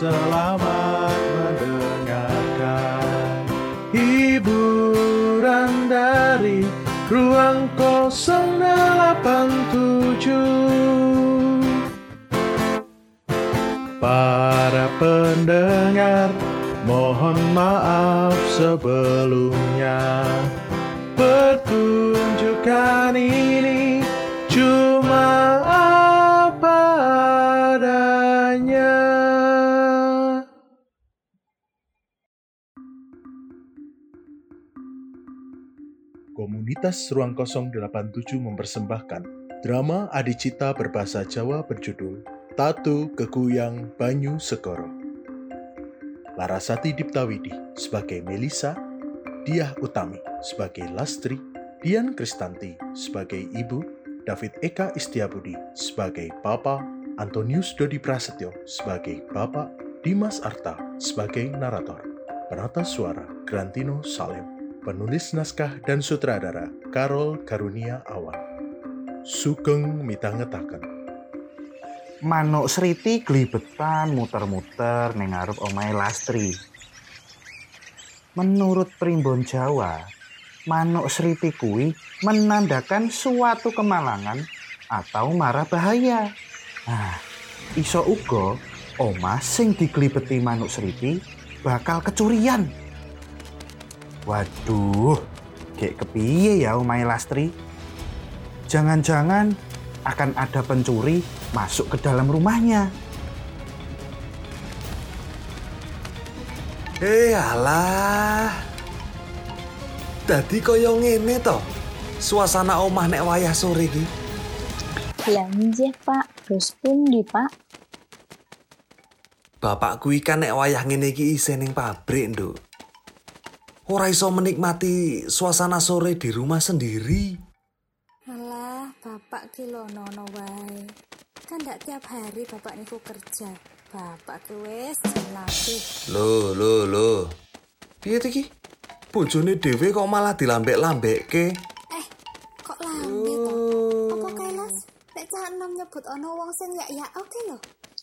selamat mendengarkan hiburan dari Ruang 087. Para pendengar, mohon maaf sebelumnya. Pertunjukan ini cuma apa adanya. Komunitas Ruang 087 mempersembahkan drama adicita berbahasa Jawa berjudul Tatu Kekuyang Banyu Segoro. Larasati Diptawidi sebagai Melisa, Diah Utami sebagai Lastri, Dian Kristanti sebagai Ibu, David Eka Istiabudi sebagai Bapak, Antonius Dodi Prasetyo sebagai Bapak, Dimas Arta sebagai narator, penata suara Grantino Salem, penulis naskah dan sutradara Karol Karunia Awan. Sugeng mitangetaken. Manuk Sriti glibetan muter-muter ning ngarep omahe Lastri. Menurut primbon Jawa, manuk Sriti kuwi menandakan suatu kemalangan atau mara bahaya. Nah, iso uga omah sing diglibeti manuk Sriti bakal kecurian. Waduh, gek kepiye ya omahe Lastri? Jangan-jangan akan ada pencuri masuk ke dalam rumahnya. Alah. Dadi kaya ngene to. Suasana omah nek wayah sore iki. Lah nggih, Pak. Terus pundi, Pak? Bapak kuwi kan nek wayah ngene iki isih ning pabrik, Nduk. Ora iso menikmati suasana sore di rumah sendiri. Alah, bapak ki lono wae. Kan ndak tiap hari bapak niku kerja. Bapak ki wis latih. Loh. Piye iki? Bojone dhewe kok malah dilambek-lambekke. Kok lambe to? Apa kelas? Nek cah enom nyebut ana wong sing yak oke lho.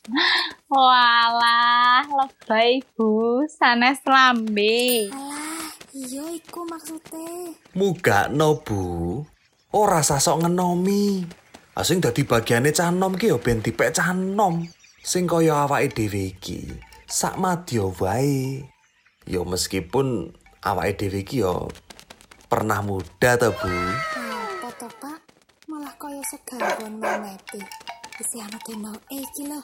Walah, lebay Bu, sanes lambe. Alah, iya iku maksude. Mugakno, Bu. Ora sasok ngenomi. Sing dadi bagiane cah enom ki ya ben dipek cah enom. Sing kaya awake dhewe iki, sak madya wae. Ya meskipun awake dhewe iki ya pernah muda to, Bu. Apa to, Pak? Malah kaya segawon memeti. Isih ana denoke iki lho.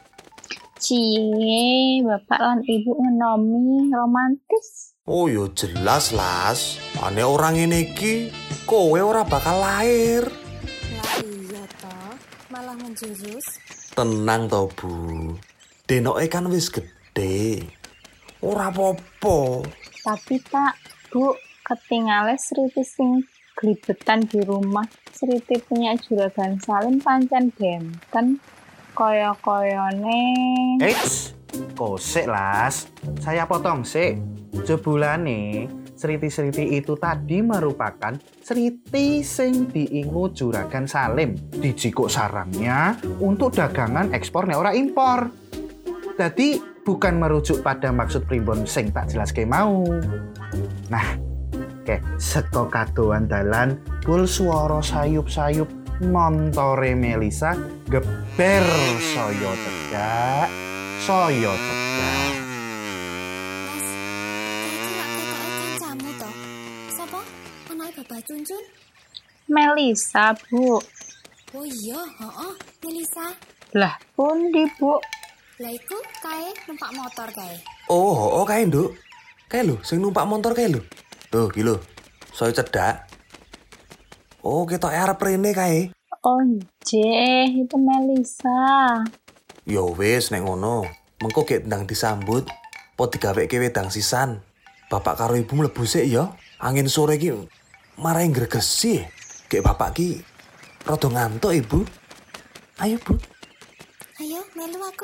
Cie, Bapak lan Ibu ngenomi romantis. Oh ya jelas, Las. Ane orang ngene iki kowe ora bakal lahir. Lah iya to, malah menjurus. Tenang to, Bu. Denoke kan wis gede. Ora apa-apa. Tapi Pak, Bu, ketinggalan Sriti sing glibetan di rumah. Sriti punya juragan Salim pancen benten. Koyo-koyone. Eits, kosek Las. Saya potong sik. Jebulane Sriti-Sriti itu tadi merupakan Sriti sing diingu juragan Salim di jikuk sarangnya untuk dagangan ekspor nek ora impor. Jadi bukan merujuk pada maksud primbon sing tak jelaske mau. Nah, seko kadoan dalan bul swara sayup-sayup montore Melisa geber saya tegak. Bapak Cuncun? Melisa, Bu. Oh iya, Melisa. Lah, pundi, Bu? Lah iku kae numpak motor kae. Oh, kae, Nduk. Kae lho, sing numpak motor kae lho. Tuh, iki lho. Saya cedak. Oh, ketok arep rene kae. Oh, itu Melisa. Ya wis nek ngono. Mengko gek ndang disambut, po digaweke wedang sisan. Bapak karo Ibu mlebu sik ya. Angin sore iki marai gregesi. Gek bapak ki rada ngantuk, Ibu. Ayo, Bu. Ayo, melu aku.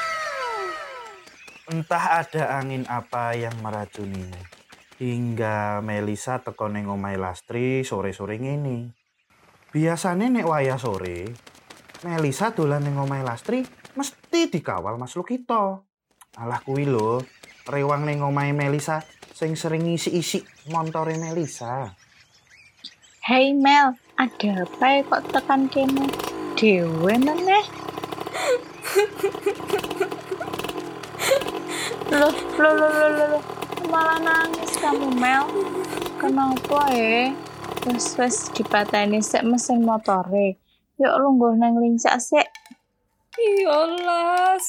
Entah ada angin apa yang meracunimu. Hingga Melisa teko ning omahe Lastri sore-sore ngene. Biasane nek wayah sore, Melisa dolan ning omahe Lastri mesti dikawal Mas Lukito. Alah kuwi lho, rewang ning omahe Melisa sing sering ngisi-isi montore Melisa. Hei Mel, ada apa ya kok tekan kene? Dewe meneh. Loh, malah nangis kamu Mel. Kenapa ya? Wes dipateni sik mesin motore. Yuk lungguh nang lincak sik. Iya, Las.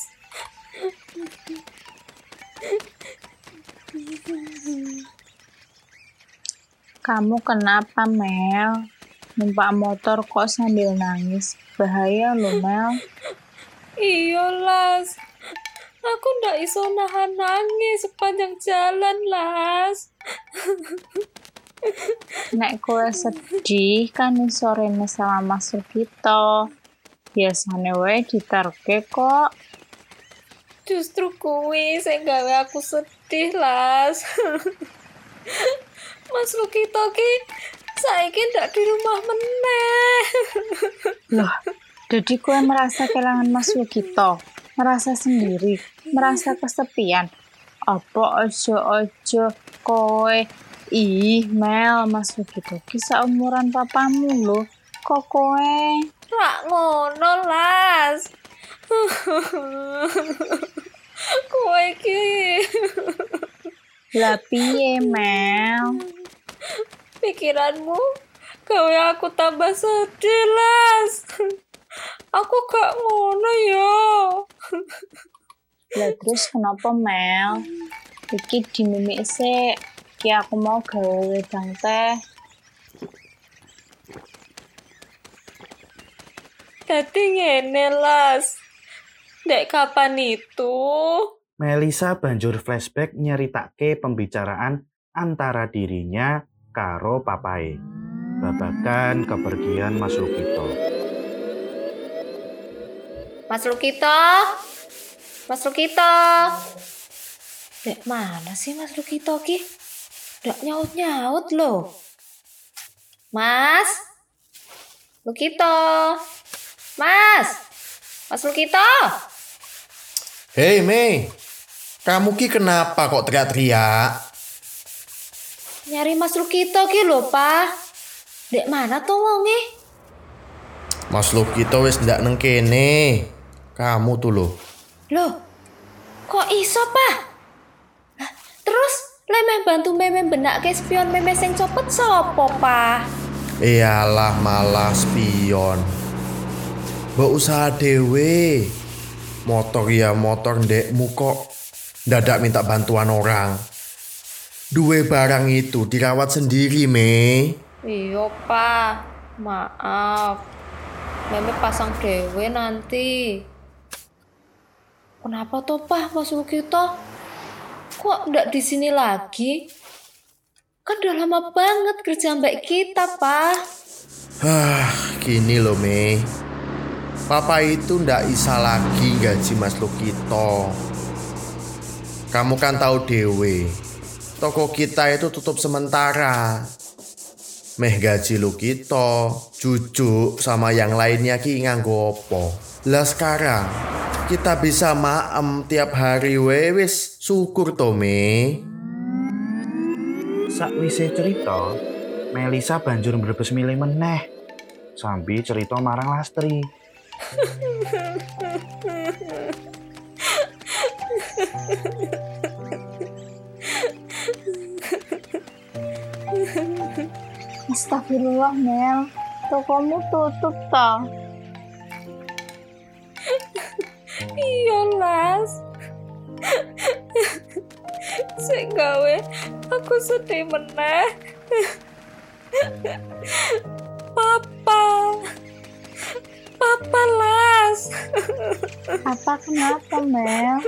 Kamu kenapa Mel? Numpak motor kok sambil nangis? Bahaya loh Mel. Iya, Las. Aku ndak iso nahan nangis sepanjang jalan, Las. Nek kowe sedih kan iso rene sama Mas Sugito. Biasane wae diterke kok. Justru kuwi sing gawe aku sedih, Las. Mas Lukito ki saiki ndak di rumah meneh. Loh, jadi kowe merasa kehilangan Mas Sugito, merasa sendiri, merasa kesepian. Apa ojo kowe Mel, Mas Sugito ki seumuran papamu lho. Kok kowe Rak ngono, Las. Kowe iki lah piye Mel? pikiranmu gawe aku tambah sedih, Las. Aku gak ngono yo. Lah terus kenapa Mel? Iki dimimik sik. Ki aku mau gawe wedang teh. Dadi ngene, Las. Dek kapan itu? Melisa banjur flashback nyeritake pembicaraan antara dirinya karo papae. Babagan kepergian Mas Lukito. Mas Lukito? Mas Lukito? Dek mana sih Mas Lukito ki? Ndak nyaut-nyaut loh. Mas? Lukito? Mas Lukito? Hei Mei, kamu ki kenapa kok teriak-teriak? Nyari Mas Lukito ki lho, Pak. Dek mana tuh wonge? Mas Lukito wis ndak neng kene. Kamu tuh loh. Loh, kok iso, Pak? Lah, terus lemeh bantu meme benake spion meme sing copet sopo, Pak? Iyalah malah spion. Mbok usaha dewe. Motor ya motor ndekmu kok dadak minta bantuan orang. Duwe barang itu dirawat sendiri, Mei. Iya, Pak. Maaf. Meme pasang dewe nanti. Kenapa tuh, Pak, Mas Lukito? Kok ndak di sini lagi? Kan udah lama banget kerja mbak kita, Pak. Gini loh, Mei. Papa itu ndak bisa lagi gaji Mas Lukito. Kamu kan tahu dewe. Toko kita itu tutup sementara. Meh gaji Lukito, Cucu sama yang lainnya ki nganggo opo. Lah sekarang kita bisa maem tiap hari wis syukur to Me. Sakwise cerita, Melisa banjur mbrebes milih meneh. Sambil cerita marang Lastri. Astagfirullah Mel, tokomu tutup toh. Iya, Las. Sing gawe aku sedih meneh. Papa Las. Apa kenapa Mel?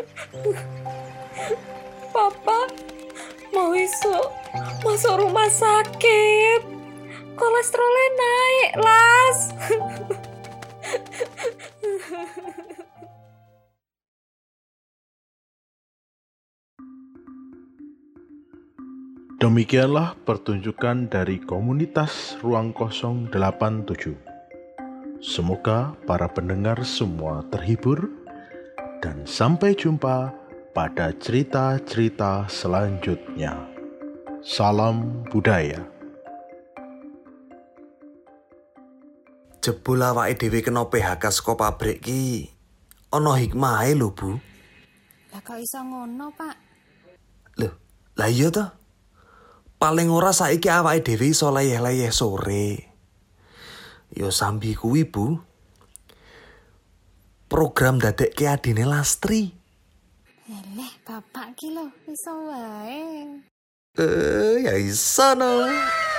Papa mau masuk rumah sakit. Kolesterolnya naik, Las. Demikianlah pertunjukan dari komunitas Ruang Kosong 87. Semoga para pendengar semua terhibur dan sampai jumpa pada cerita-cerita selanjutnya. Salam budaya. Jebul awake dhewe kena PHK saka pabrik ki. Ana hikmahe lho, Bu. Lah kok iso ngono, Pak? Loh, lah iya toh. Paling ora saiki awake dhewe iso leyeh-leyeh sore. Yo sambi kuwi, Bu. Program dadekke adine Lastri. Eleh, bapak ki lho, iso wae. Ya iso no.